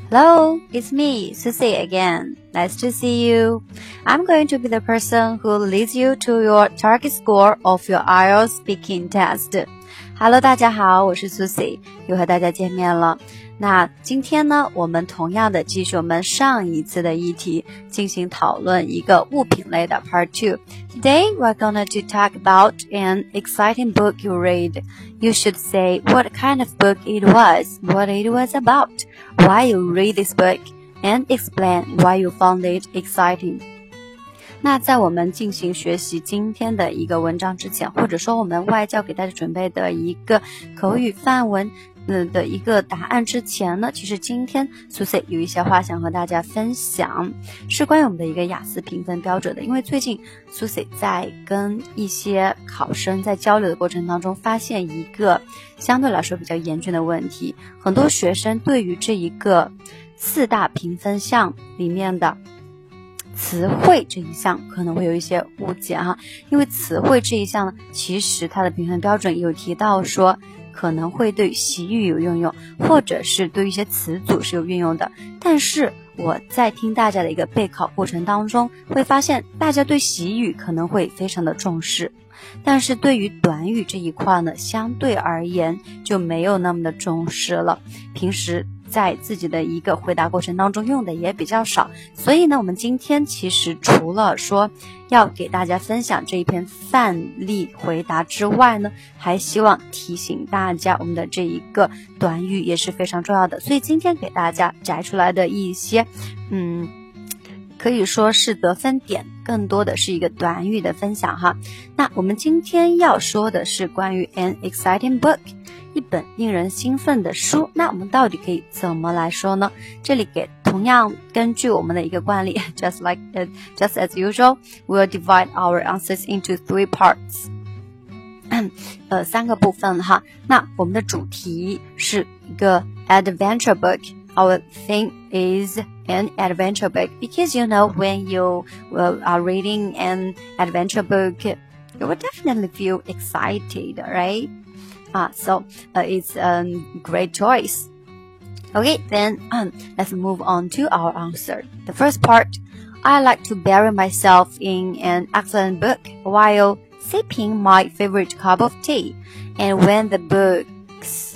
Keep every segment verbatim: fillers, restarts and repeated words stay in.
Hello, it's me, Susie again. Nice to see you. I'm going to be the person who leads you to your target score of your I E L T S speaking test. Hello, 大家好，我是 Susie， 又和大家见面了。那今天呢，我们同样的继续我们上一次的议题，进行讨论一个物品类的 Part two. Today, we're gonna to talk about an exciting book you read. You should say what kind of book it was, what it was about, why you read this book, and explain why you found it exciting. 那在我们进行学习今天的一个文章之前，或者说我们外教给大家准备的一个口语范文嗯的一个答案之前呢，其实今天 Susie 有一些话想和大家分享，是关于我们的一个雅思评分标准的。因为最近 Susie 在跟一些考生在交流的过程当中，发现一个相对来说比较严峻的问题，很多学生对于这一个四大评分项里面的词汇这一项可能会有一些误解哈，因为词汇这一项呢，其实它的评分标准有提到说可能会对习语有运用，或者是对一些词组是有运用的。但是我在听大家的一个备考过程当中，会发现大家对习语可能会非常的重视，但是对于短语这一块呢，相对而言就没有那么的重视了。平时在自己的一个回答过程当中用的也比较少，所以呢，我们今天其实除了说要给大家分享这一篇范例回答之外呢，还希望提醒大家我们的这一个短语也是非常重要的，所以今天给大家摘出来的一些嗯可以说是得分点，更多的是一个短语的分享哈。那我们今天要说的是关于 an exciting book， 一本令人兴奋的书。那我们到底可以怎么来说呢？这里给同样根据我们的一个惯例 just like uh, just as usual, we'll divide our answers into three parts 呃三个部分哈。那我们的主题是一个 adventure book。Our theme is an adventure book because you know when you uh, are reading an adventure book, you will definitely feel excited, right? Ah, so uh, it's a great choice. Okay, then um, let's move on to our answer. The first part, I like to bury myself in an excellent book while sipping my favorite cup of tea. And when the books...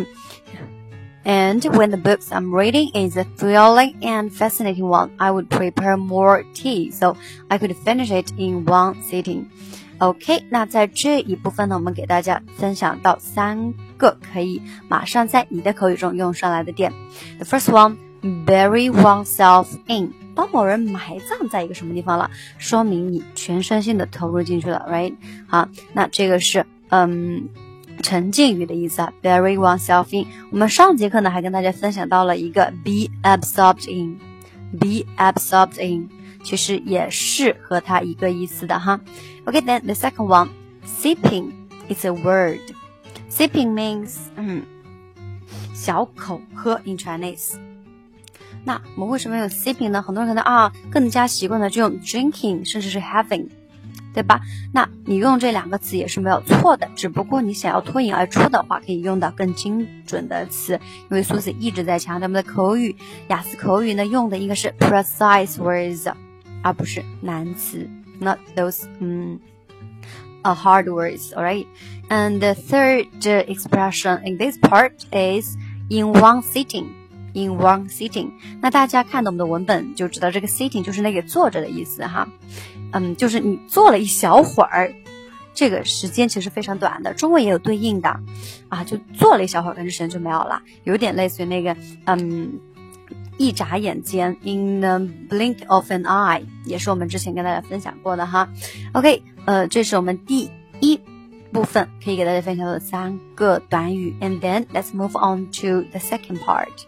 And when the books I'm reading is a thrilling and fascinating one, I would prepare more tea so I could finish it in one sitting. OK, 那在这一部分呢，我们给大家分享到三个可以马上在你的口语中用上来的点。The first one, bury oneself in. 把某人埋葬在一个什么地方了，说明你全身心的投入进去了 ，right？ 好，那这个是嗯。沉浸语的意思啊 bury oneself in。 我们上节课呢还跟大家分享到了一个 be absorbed in be absorbed in 其实也是和它一个意思的哈。 Okay, then the second one, sipping is a word. Sipping means 嗯小口喝 in Chinese。 那我们为什么用 sipping 呢？很多人可能啊更加习惯的就用 drinking 甚至是 having，对吧？那你用这两个词也是没有错的，只不过你想要脱颖而出的话，可以用到更精准的词。因为苏子一直在强调我们的口语，雅思口语呢用的应该是 precise words， 而不是难词 ，not those 嗯、uh, hard words, alright? And the third expression in this part is in one sitting.In one sitting， 那大家看到我们的文本就知道，这个 sitting 就是那个坐着的意思哈，嗯，就是你坐了一小会儿，这个時間其實非常短的，中文也有對應的啊，就坐了一小會兒，跟住時間就沒有了，有點類似於那個嗯一眨眼間 in the blink of an eye， 也是我們之前跟大家分享過的哈。OK， 呃，這是我們第一部分可以給大家分享的三個短語 ，and then let's move on to the second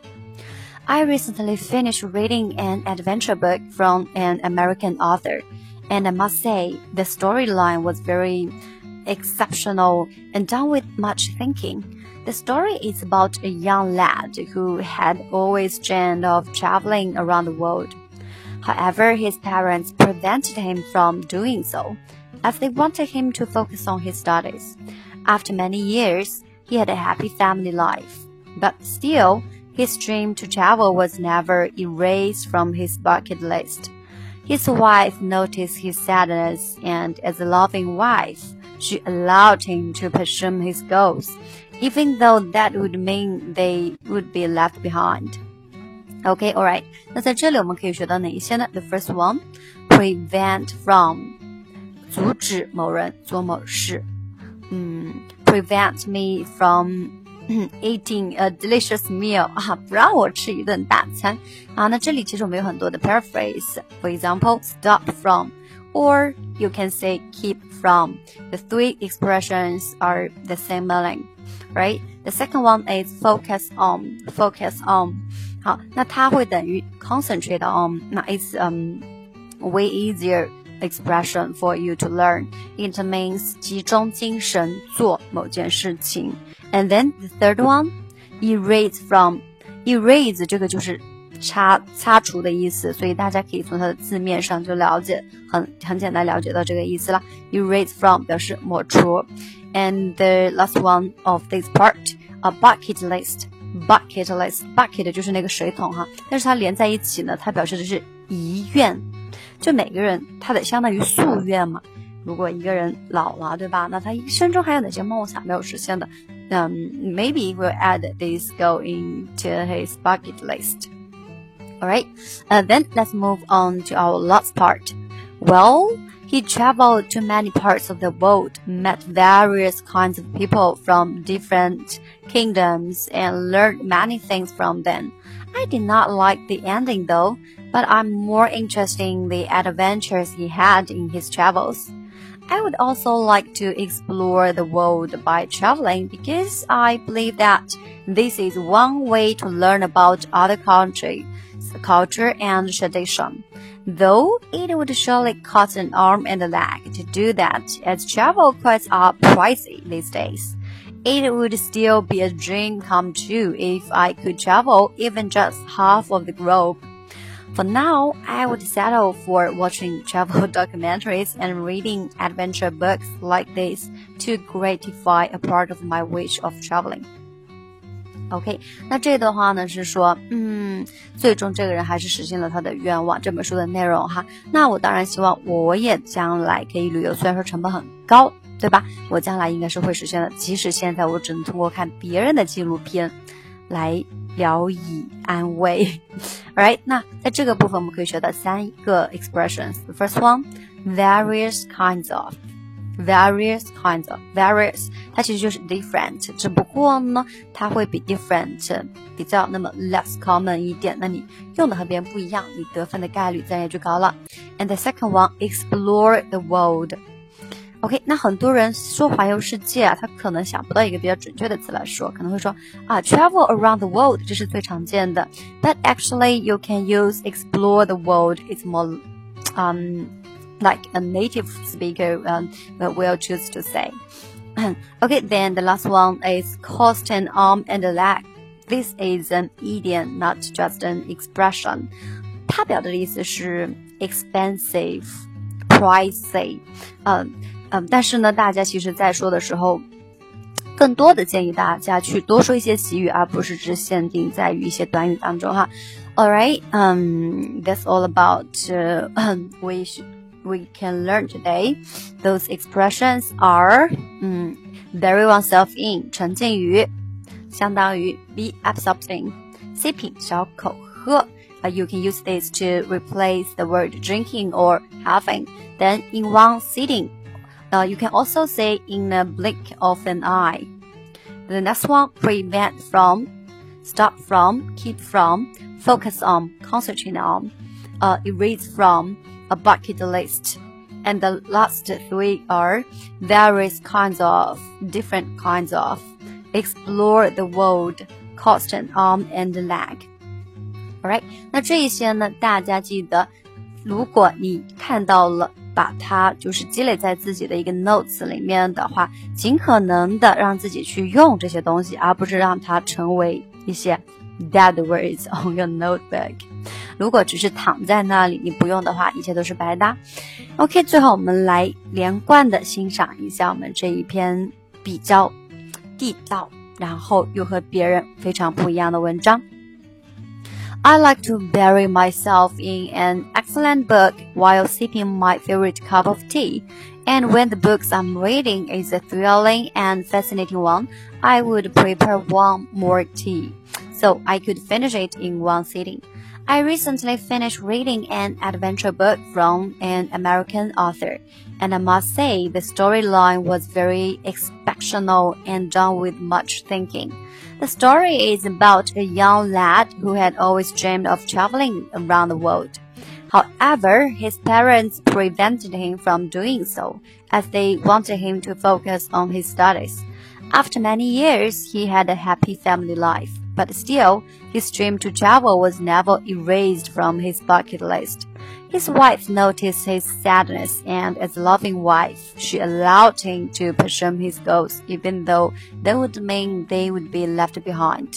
part。I recently finished reading an adventure book from an American author, and I must say the storyline was very exceptional and done with much thinking. The story is about a young lad who had always dreamed of traveling around the world. However, his parents prevented him from doing so, as they wanted him to focus on his studies. After many years, he had a happy family life, but still, his dream to travel was never erased from his bucket list. His wife noticed his sadness, and as a loving wife, she allowed him to pursue his goals, even though that would mean they would be left behind. Okay, alright. 那在这里我们可以学到哪一些呢？ The first one, prevent from, 阻止某人做某事。嗯 ，prevent me from eating a delicious meal 啊，不让我吃一顿大餐啊。那这里其实我们有很多的 paraphrase。For example, stop from, or you can say keep from. The three expressions are the same meaning, right? The second one is focus on, focus on. 好，那它会等于 concentrate on. 那 it's um way easier expression for you to learn. It means 集中精神做某件事情。And then the third one, erase from. Erase 这个就是擦擦除的意思，所以大家可以从它的字面上就了解，很很简单了解到这个意思啦。Erase from 表示抹除。And the last one of this part, a bucket list. Bucket list, bucket 就是那个水桶哈，但是它连在一起呢，它表示的是遗愿。就每个人他得相当于夙愿嘛。如果一个人老了，对吧？那他一生中还有哪些梦想没有实现的？嗯、um, maybe we'll add this goal into his bucket list. Alright, uh, then let's move on to our last part. Well, he traveled to many parts of the world, met various kinds of people from different kingdoms, and learned many things from them. I did not like the ending though, but I'm more interested in the adventures he had in his travels. I would also like to explore the world by traveling because I believe that this is one way to learn about other countries, culture and tradition. Though it would surely cost an arm and a leg to do that, as travel costs are pricey these days. It would still be a dream come true if I could travel even just half of the globe. For now, I would settle for watching travel documentaries and reading adventure books like this to gratify a part of my wish of traveling. OK, 那这段话呢是说，嗯，最终这个人还是实现了他的愿望。这本书的内容哈，那我当然希望我也将来可以旅游，虽然说成本很高，对吧？我将来应该是会实现的，即使现在我只能通过看别人的纪录片来聊以安慰。Alright, 那在这个部分我们可以学到三个 expressions. The first one, various kinds of. Various kinds of. Various, 它其实就是 different, 只不过呢，它会比 different 比较那么 less common 一点。那你用的和别人不一样，你得分的概率自然也就高了。And the second one, explore the world.OK, 那很多人说环游世界啊，他可能想不到一个比较准确的词来说，可能会说啊 travel around the world, 这是最常见的。But actually, you can use explore the world. It's more, um, like a native speaker um, will choose to say. Okay, then the last one is cost an arm and a leg. This is an idiom, not just an expression. 它表达的意思是 expensive, pricey, 嗯、um,嗯，但是呢，大家其实在说的时候，更多的建议大家去多说一些习语，而不是只限定在于一些短语当中哈。Alright, um, that's all about uh, we should, we can learn today. Those expressions are, 嗯 bury oneself in 沉浸于，相当于 be absorbed in sipping 小口喝。Uh, you can use this to replace the word drinking or having. Then in one sitting.Uh, you can also say in a blink of an eye. The next one, prevent from, stop from, keep from, focus on, concentrate on, uh, erase from, a bucket list. And the last three are various kinds of, different kinds of, explore the world, cost an arm and a leg. Alright, 那这一些呢，大家记得，如果你看到了把它就是积累在自己的一个 notes 里面的话，尽可能的让自己去用这些东西，而不是让它成为一些 dead words on your notebook。如果只是躺在那里你不用的话，一切都是白搭。OK， 最后我们来连贯的欣赏一下我们这一篇比较地道，然后又和别人非常不一样的文章。 I like to bury myself in an excellent book while sipping my favorite cup of tea. And when the books I'm reading is a thrilling and fascinating one, I would prepare one more tea, so I could finish it in one sitting. I recently finished reading an adventure book from an American author, and I must say the storyline was very exceptional and done with much thinking. The story is about a young lad who had always dreamed of traveling around the world. However, his parents prevented him from doing so, as they wanted him to focus on his studies. After many years, he had a happy family life, but still, his dream to travel was never erased from his bucket list. His wife noticed his sadness, and as a loving wife, she allowed him to pursue his goals, even though that would mean they would be left behind.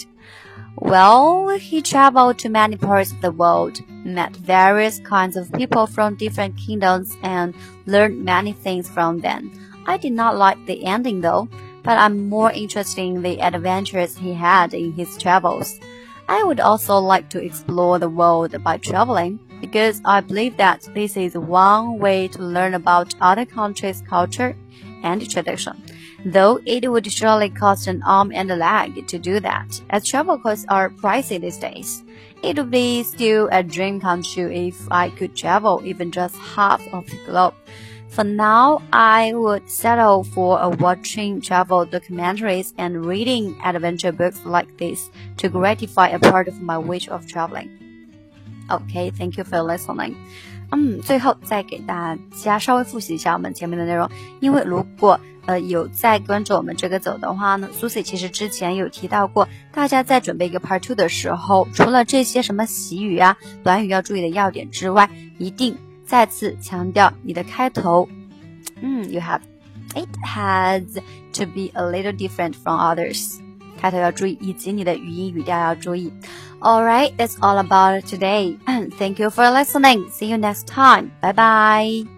Well, he traveled to many parts of the world, met various kinds of people from different kingdoms, and learned many things from them. I did not like the ending though, but I'm more interested in the adventures he had in his travels. I would also like to explore the world by traveling, because I believe that this is one way to learn about other countries' culture and tradition, though it would surely cost an arm and a leg to do that, as travel costs are pricey these days. It would be still a dream come true if I could travel even just half of the globe. For now, I would settle for a watching travel documentaries and reading adventure books like this to gratify a part of my wish of traveling. Okay, thank you for listening. 嗯，最后再给大家稍微复习一下我们前面的内容，因为如果呃有在跟着我们这个走的话呢 ，Susie 其实之前有提到过，大家在准备一个 Part Two 的时候，除了这些什么习语啊、短语要注意的要点之外，一定再次强调你的开头，嗯 ，you have it has to be a little different from others， 开头要注意，以及你的语音语调要注意。Alright, that's all about it today. Thank you for listening. See you next time. Bye bye.